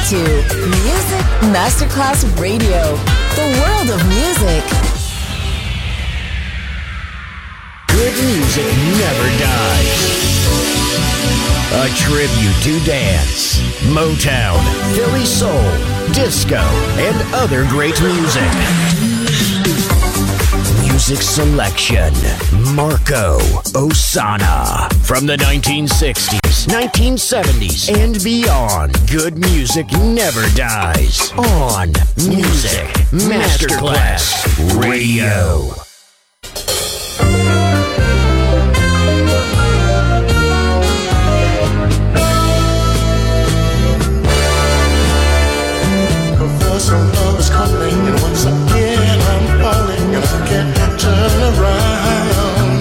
to Music Masterclass Radio, the world of music. Good music never dies. A tribute to dance, Motown, Philly soul, disco, and other great music. Music selection, Marco Ossanna. From the 1960s, 1970s, and beyond, good music never dies. On Music Masterclass Radio. Some love is calling, and once again I'm falling, and I can't turn around.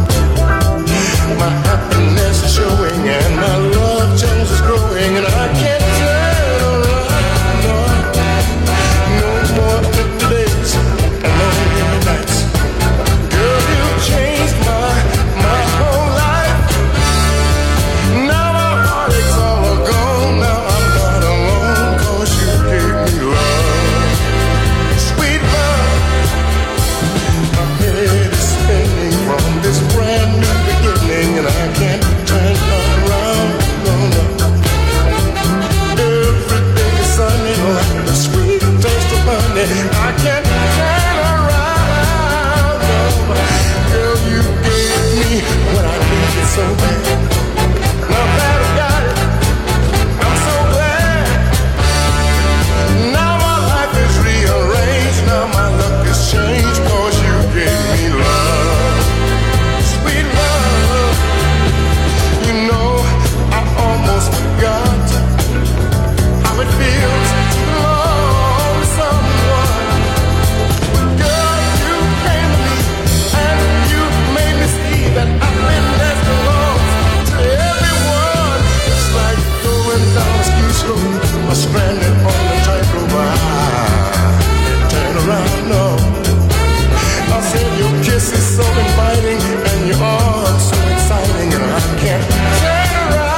My happiness is showing, and my love change is growing, and I can't turn around. No more empty days and lonely nights. Girl, you changed my whole life. Now my heartaches all are gone. Now I'm not alone, 'cause you gave me love. From this brand new beginning, and I can't turn around, no, no. Everything is sunny, like the sweet taste of honey. I can't turn around, no. Girl, you gave me what I needed so bad. Now that I got it, I'm so glad. Now my life is rearranged, now my luck has changed, 'cause you gave me love. Forgot how it feels to love someone. Girl, you came to me and you made me see that I've been destined to everyone. It's like going down a ski slope or stranded on a tightrope. I can't turn around, no. I said your kiss is so inviting and your arms so exciting, and I can't turn around.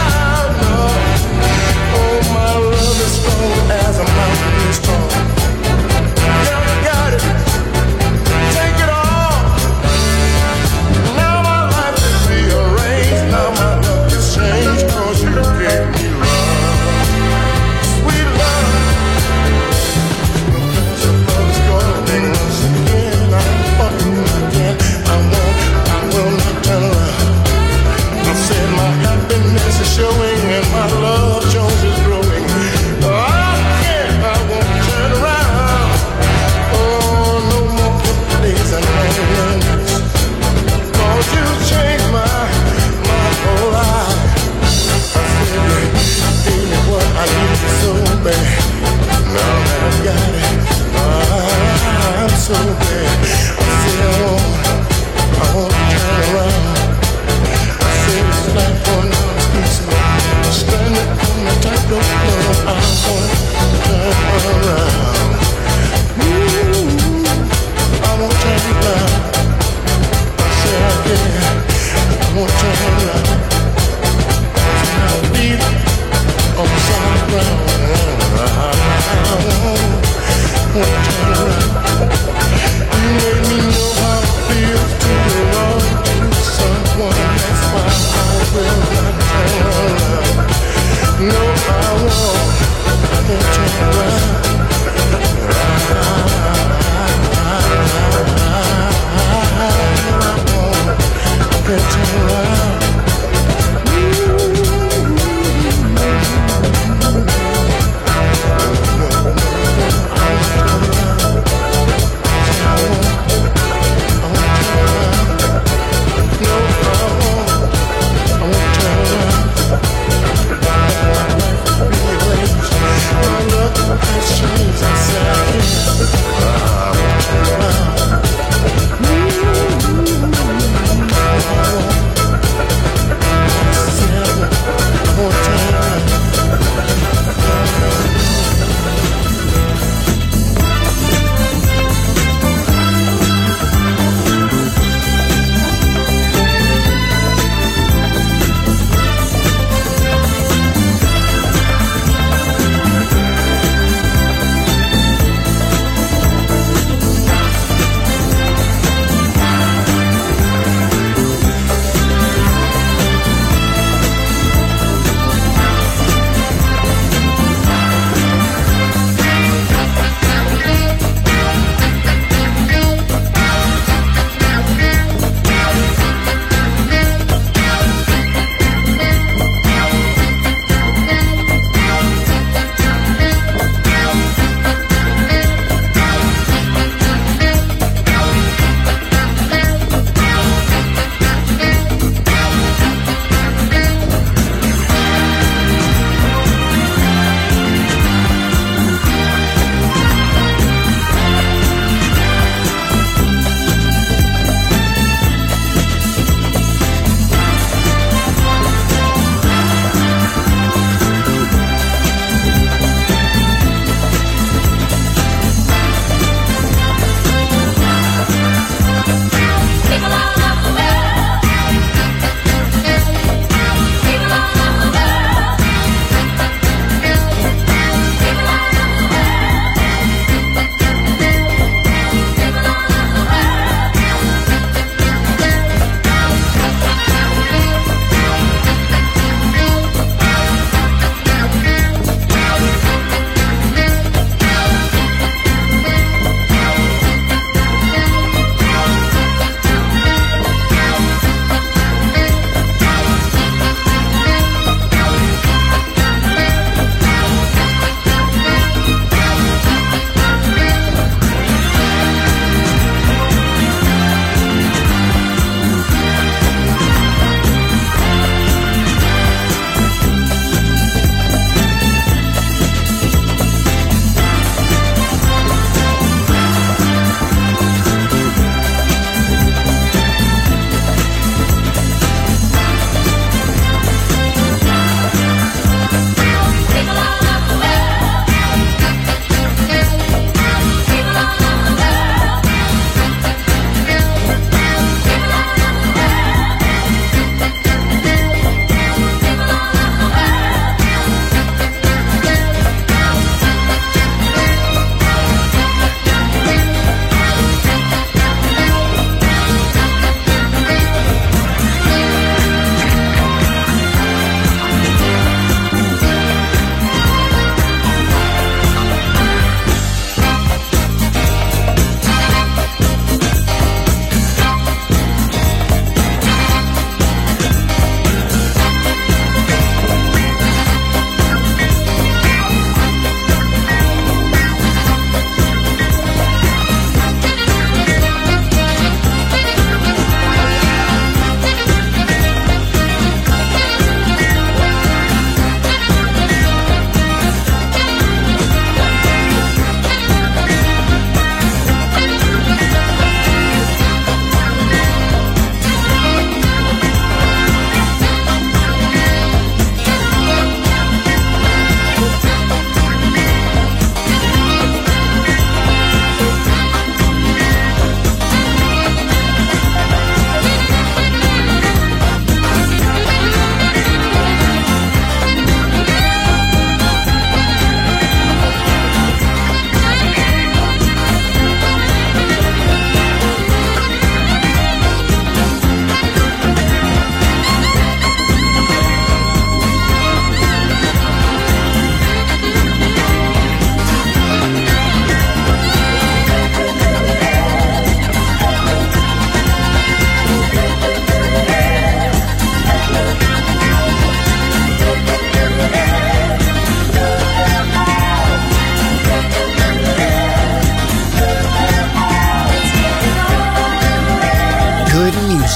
Strong as a mountain is strong. Girl, you got it. Take it all. Now my life is rearranged. Now my luck has changed, 'cause you gave me love. Sweet love. Because your love is calling once again. I'm falling again. I will not turn around. I said my happiness is showing and my love Jones is growing. I need you so bad. Now that I've got it, I'm so bad. I said I won't turn around. I said it's like going down the street, standing on the tightrope. No, I won't turn around. I won't turn around. I said I can't. I won't turn around. I'll leave it on the solid ground. I won't turn around. You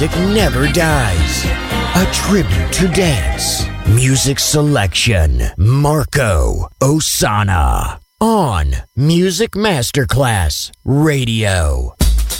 music never dies. A tribute to dance. Music selection. Marco Ossanna. On Music Masterclass Radio.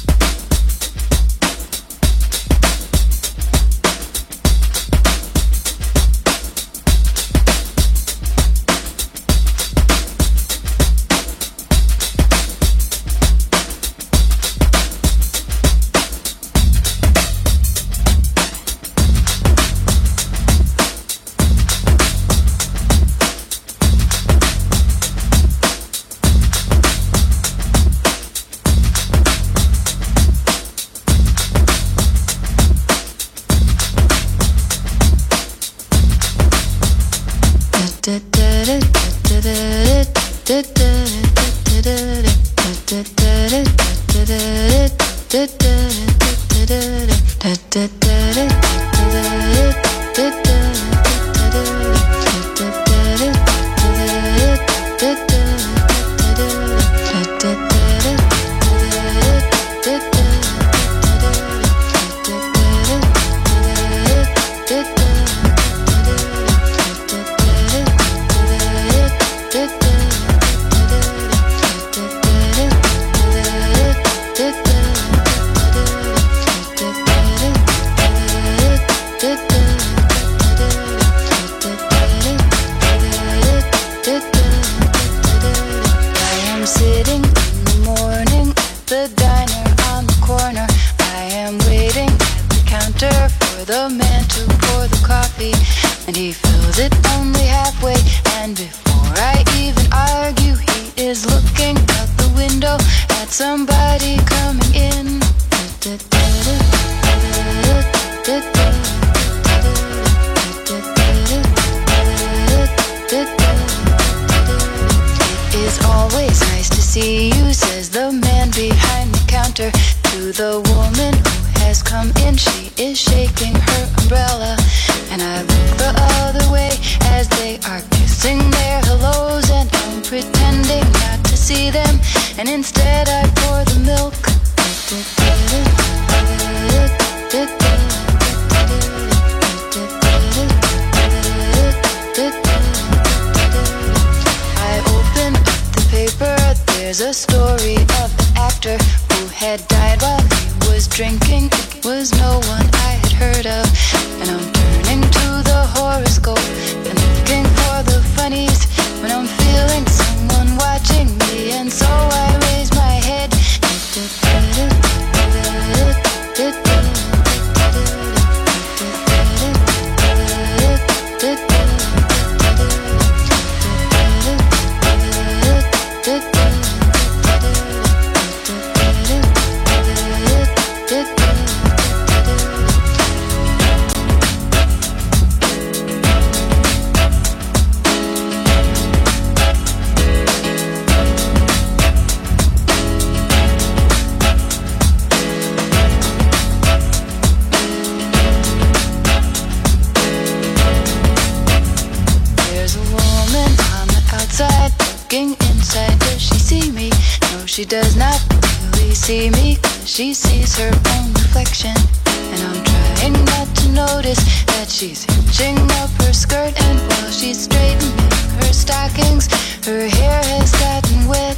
She does not really see me, 'cause she sees her own reflection. And I'm trying not to notice that she's hitching up her skirt. And while she's straightening her stockings, her hair has gotten wet.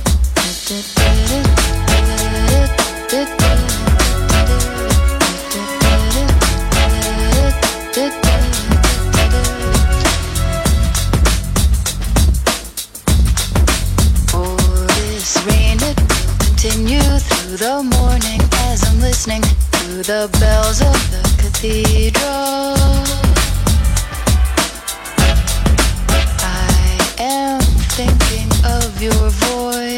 Oh, this rain, it will continue through the morning as I'm listening to the bells of the cathedral. I am thinking of your voice.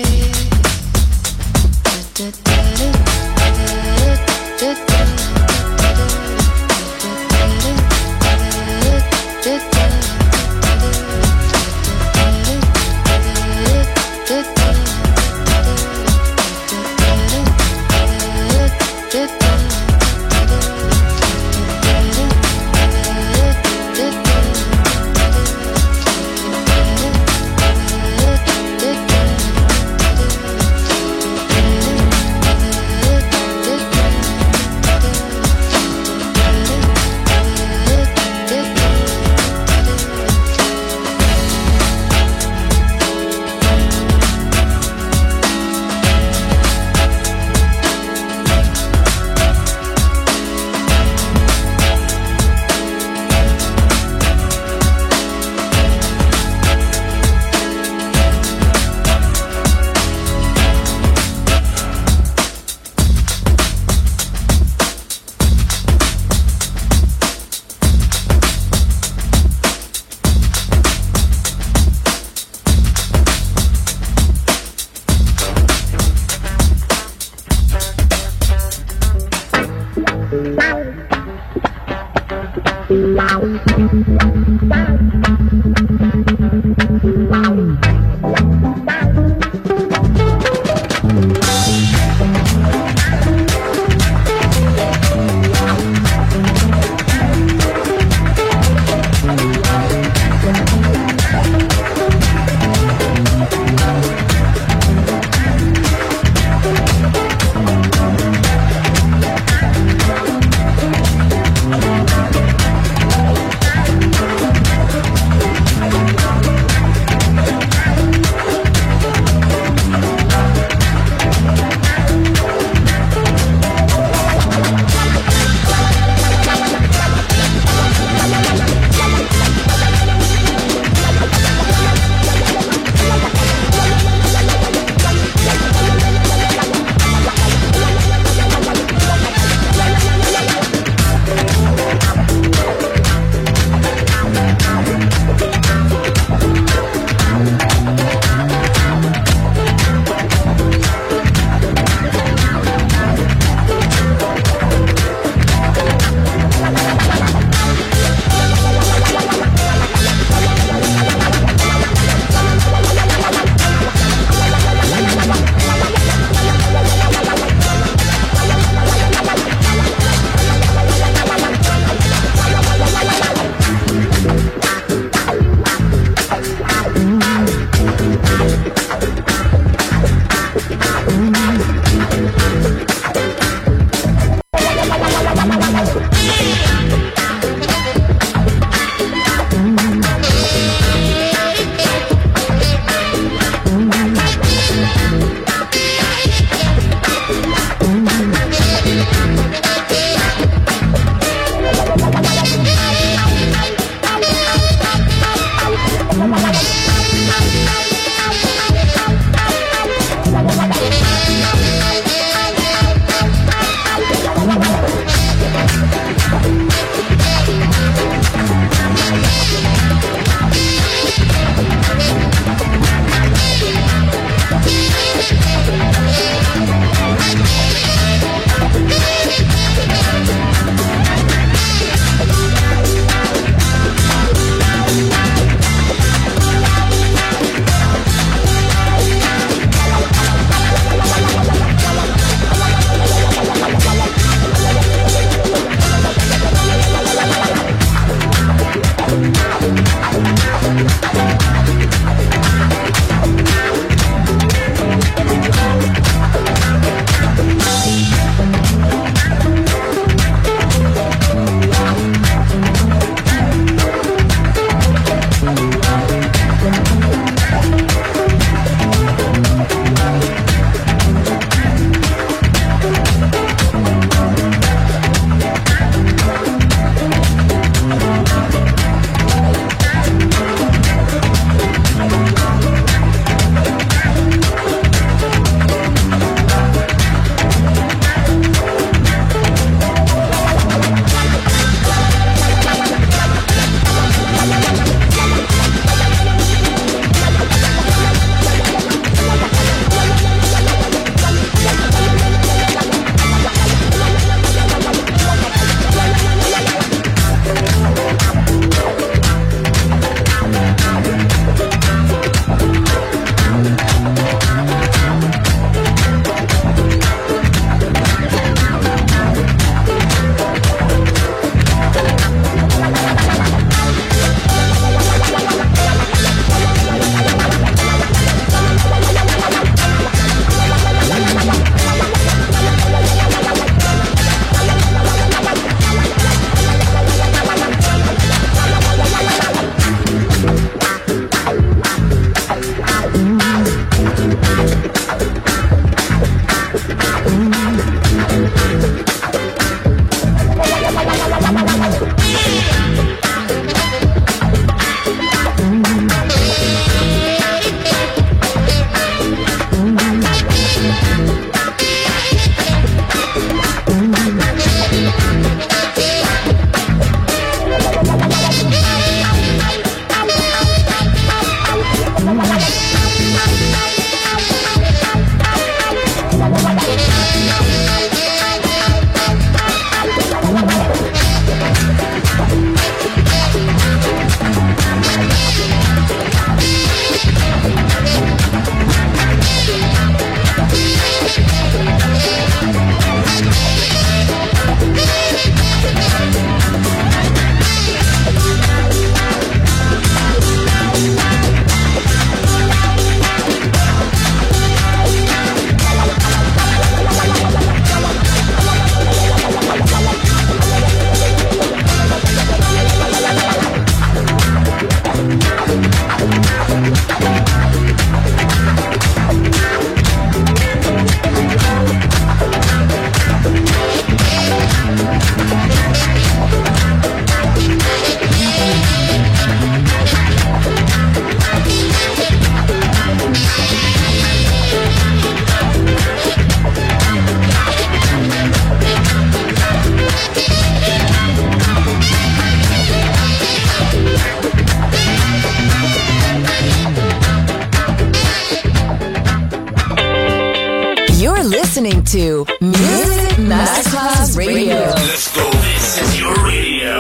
listening to Music Masterclass Radio. Let's go. This is your radio.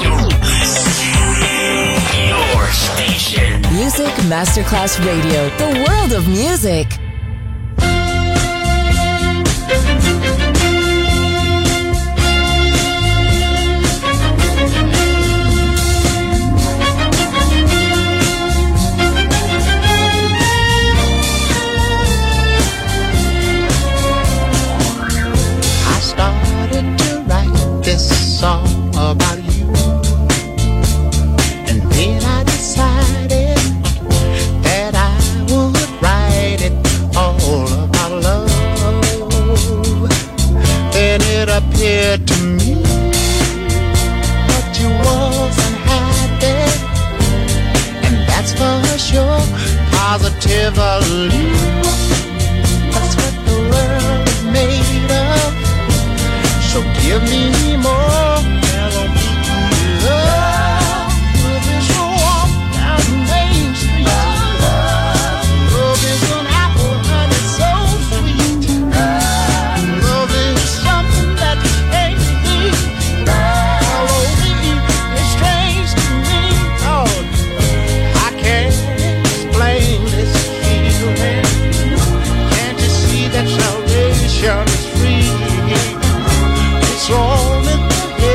Your station. Music Masterclass Radio. The world of music. This song about you, and then I decided that I would write it rush, you're positively. That's what the world is made of. So give me more. Love is a walk down Main Street. Love is an apple and it's so sweet. Love is something that can't be. L-O-V-E is strange to me. Oh, I can't explain this feeling. Can't you see that salvation is free? It's all in the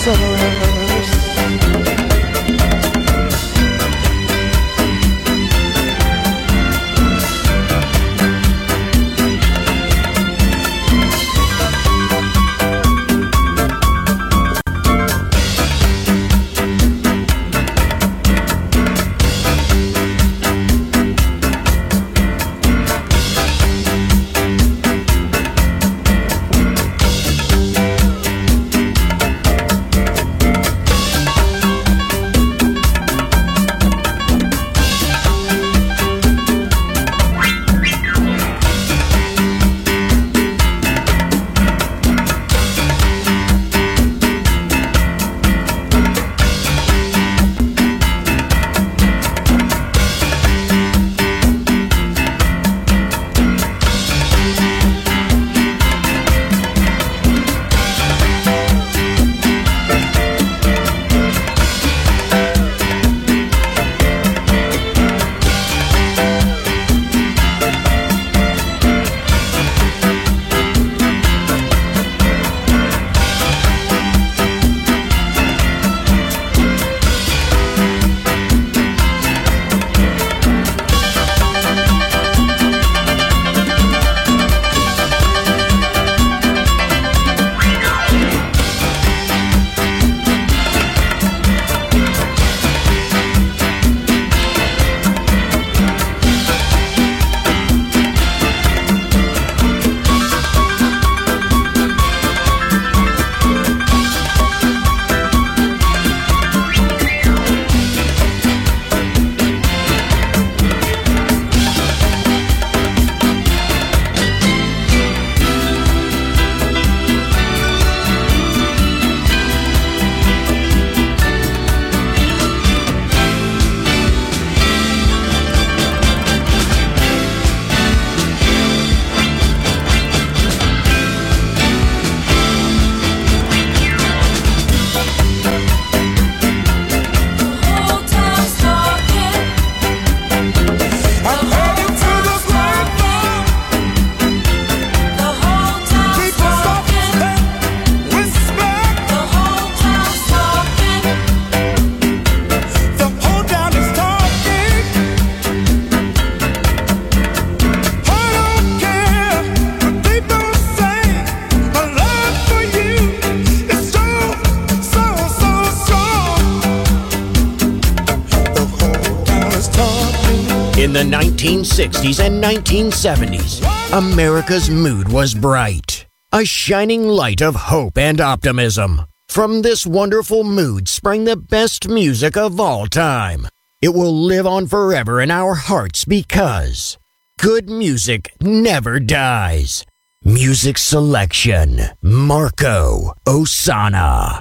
sunrise. In the 1960s and 1970s, America's mood was bright, a shining light of hope and optimism. From this wonderful mood sprang the best music of all time. It will live on forever in our hearts because good music never dies. Music selection, Marco Ossanna.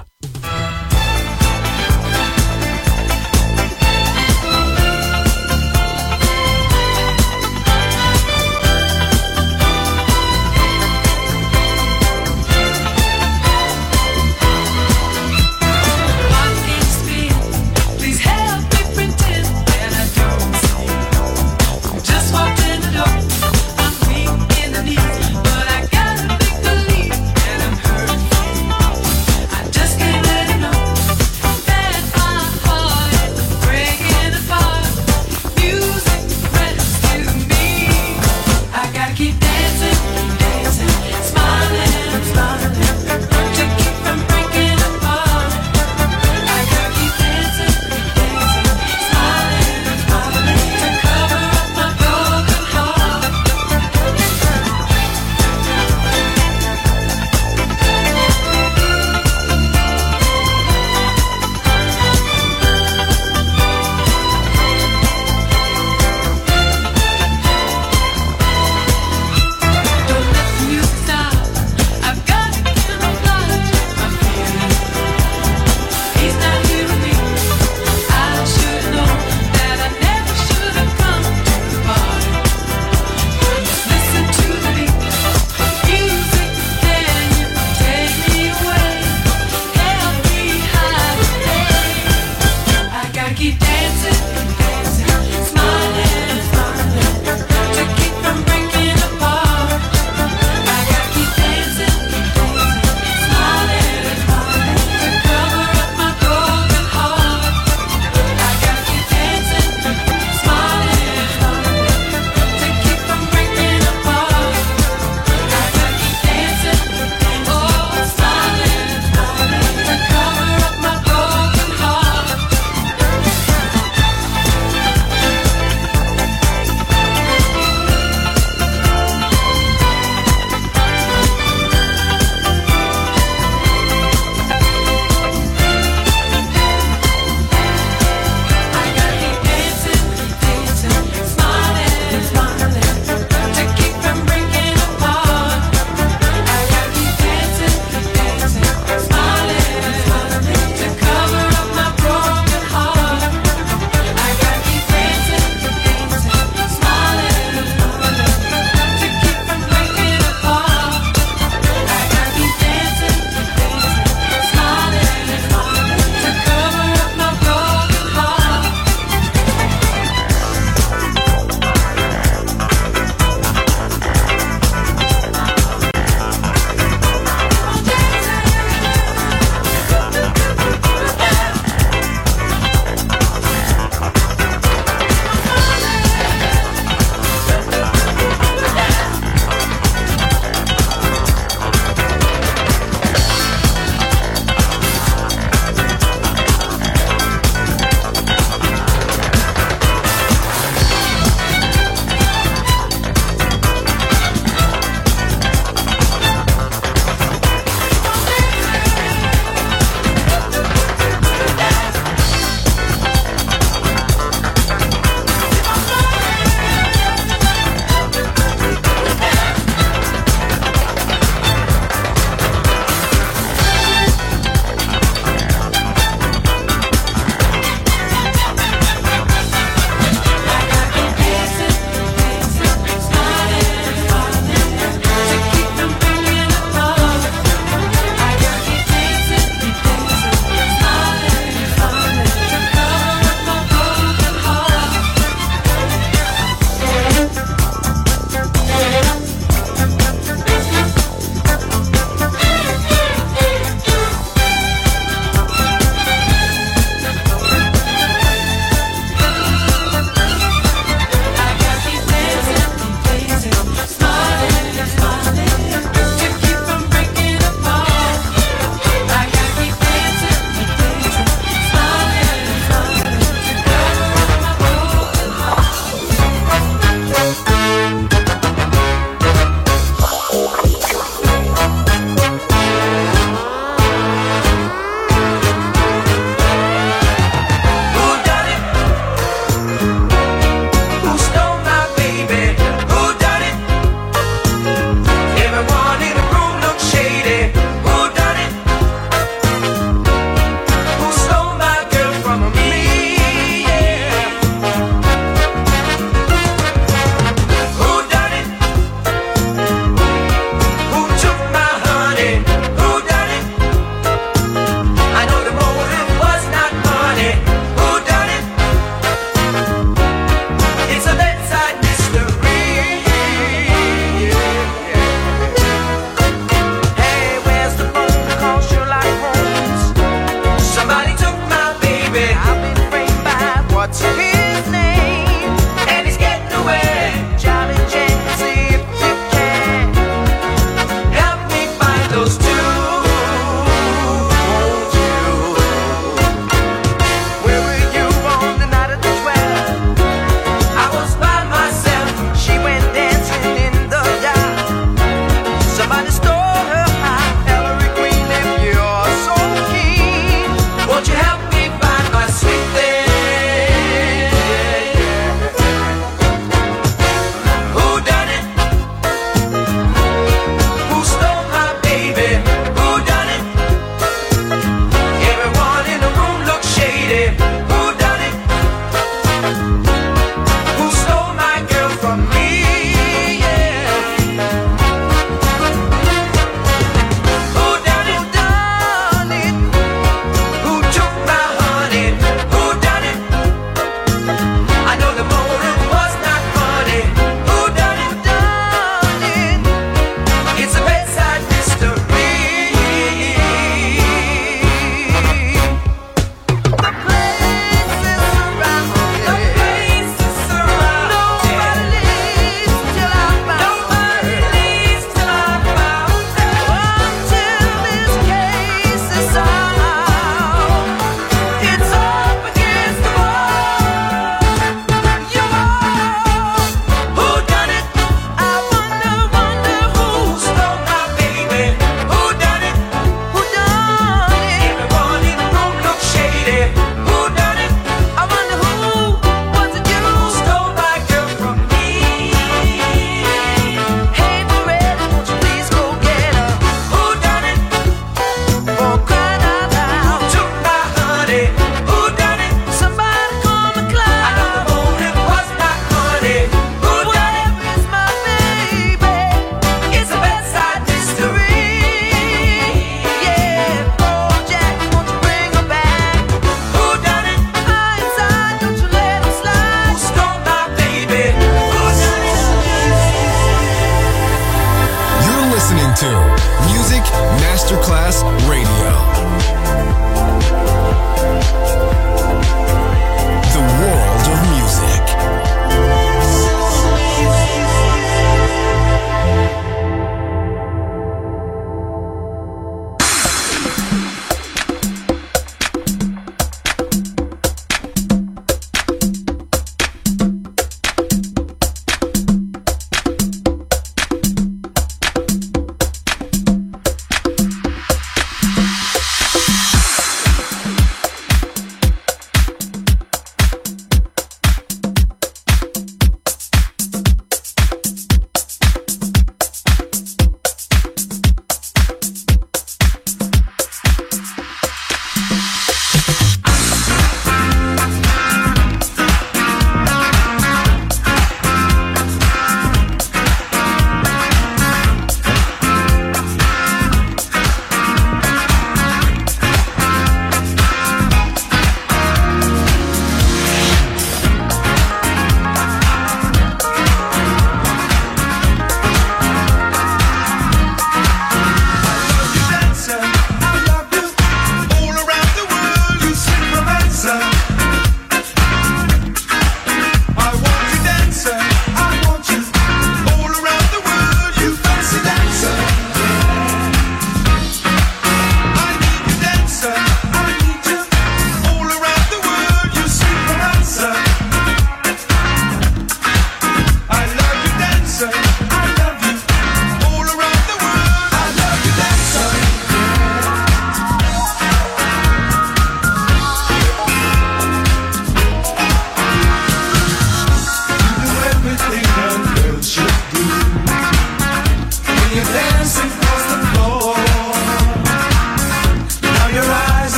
Cover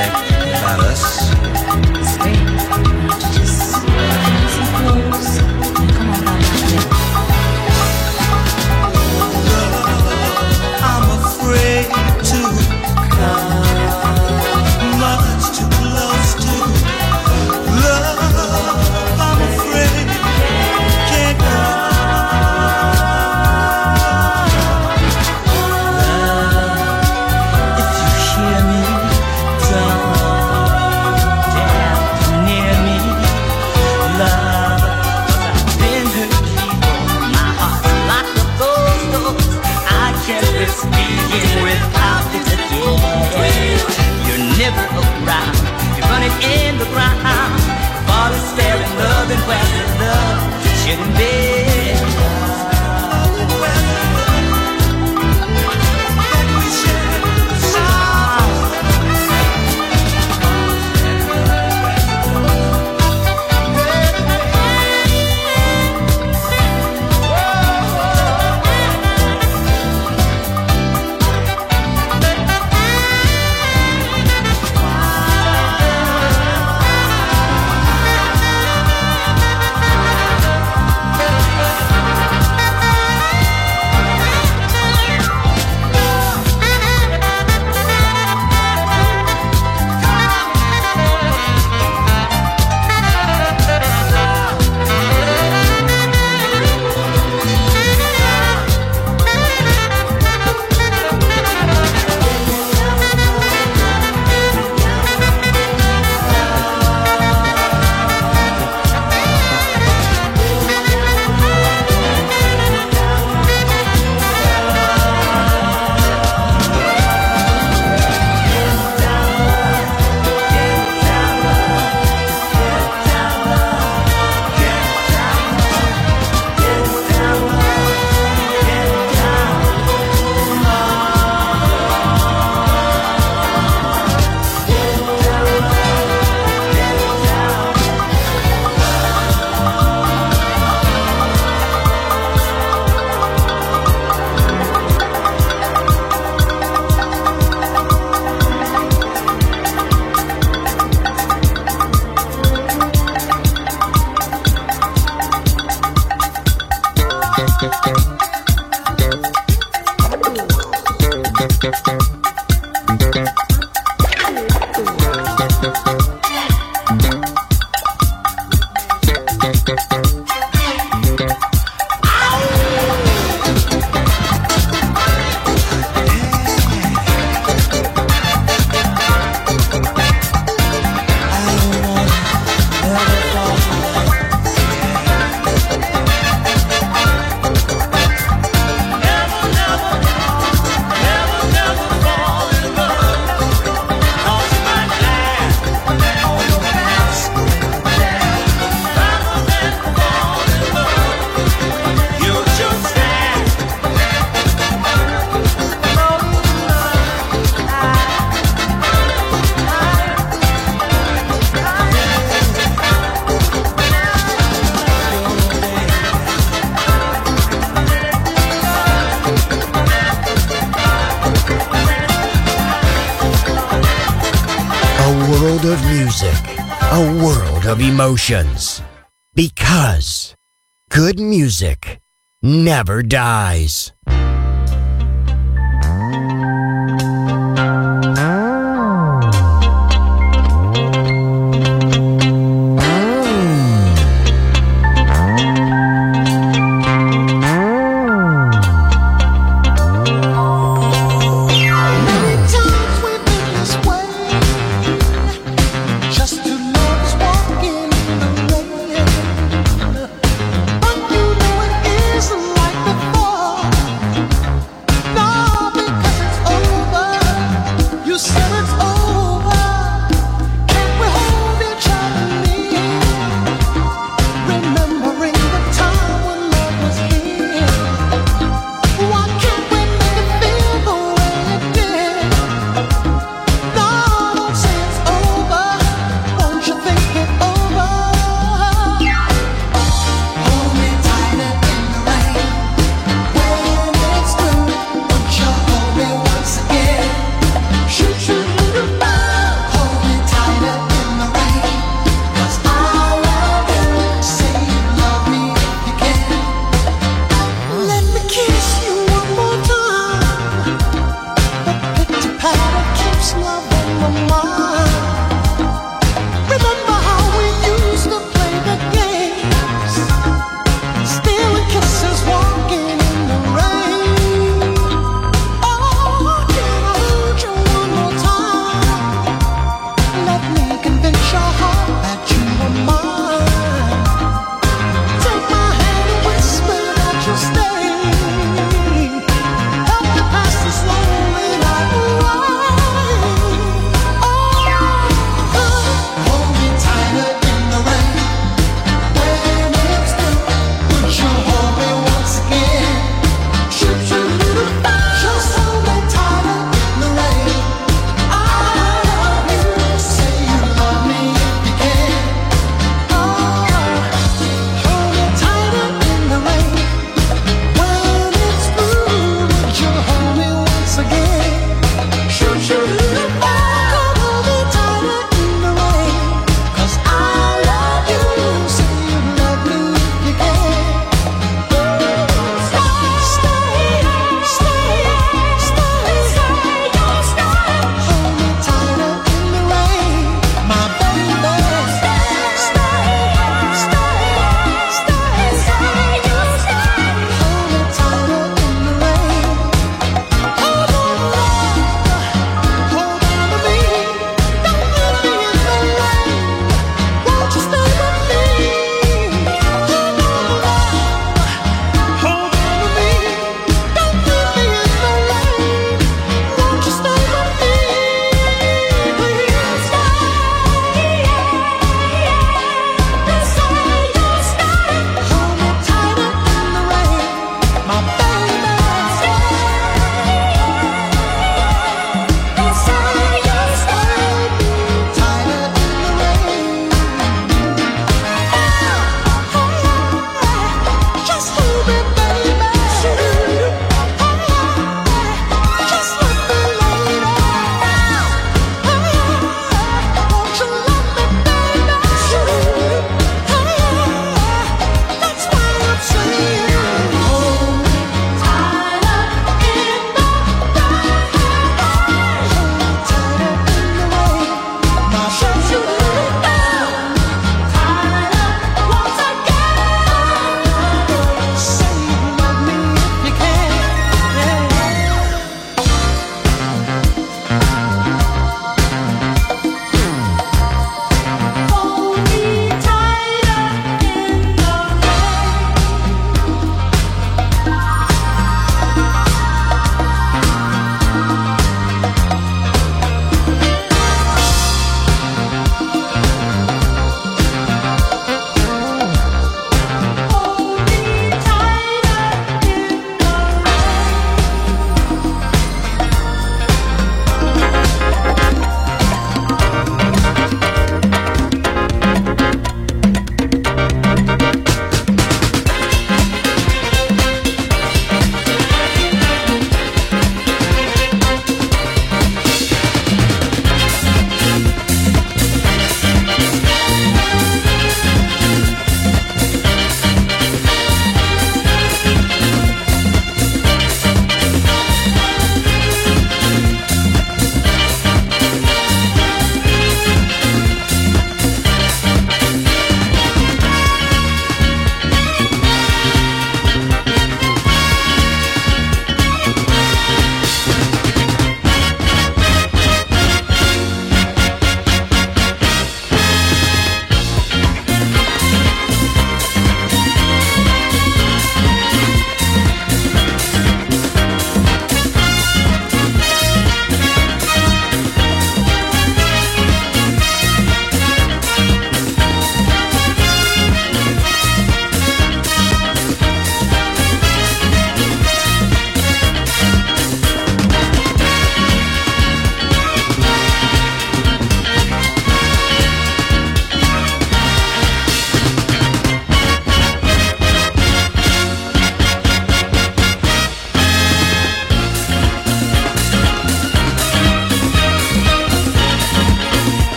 that about us? It's great. Just listen close. Come on, I'm afraid to come much too close to love. I'm afraid can't go. Love, if you hear me, don't dare come near me. Love, 'cause I've been hurt before. My heart's locked up those doors. I can't risk being without it again. You're never around. You're running in the ground. Father staring, loving where the love shouldn't be. Of music, a world of emotions. Because good music never dies. But you know it isn't like before.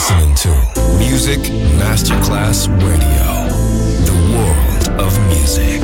listening to Music Masterclass Radio, the world of music.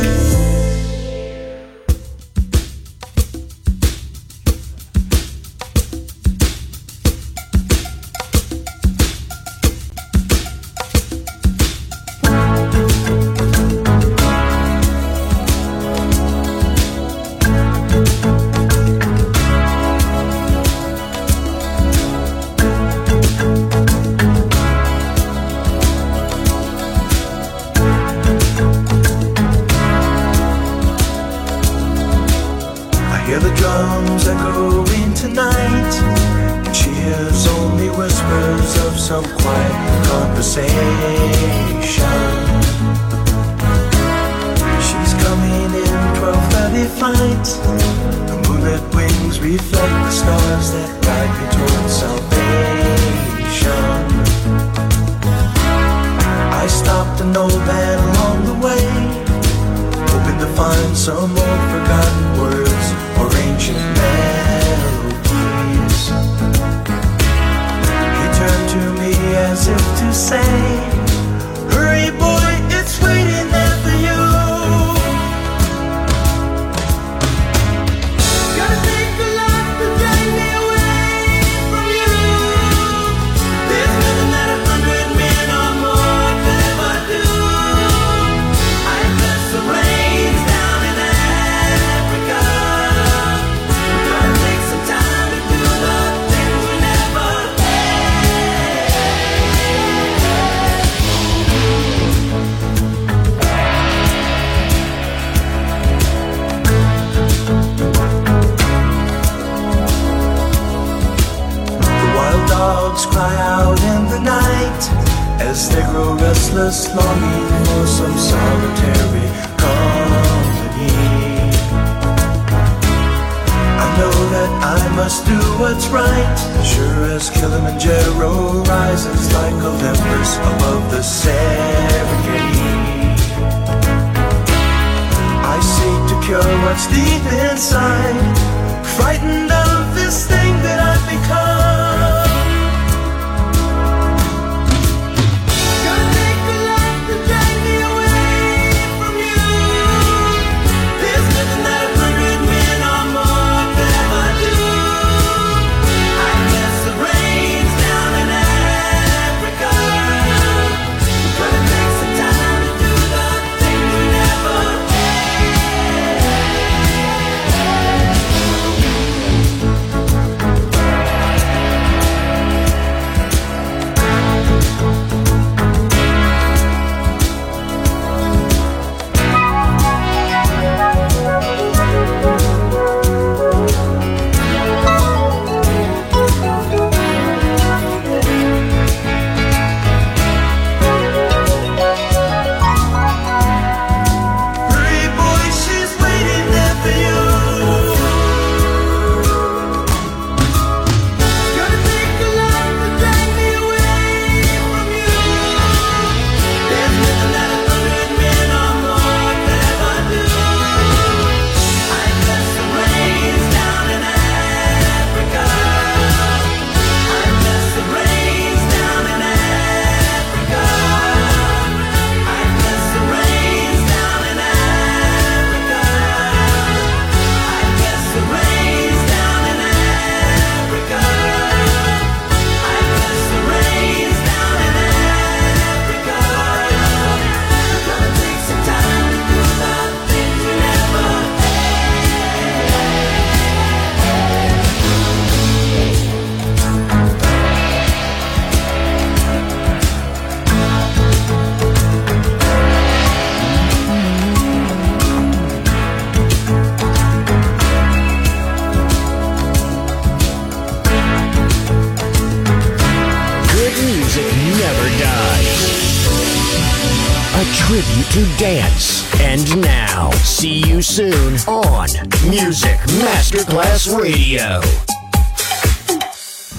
tribute to dance. And now, see you soon on Music Masterclass Radio.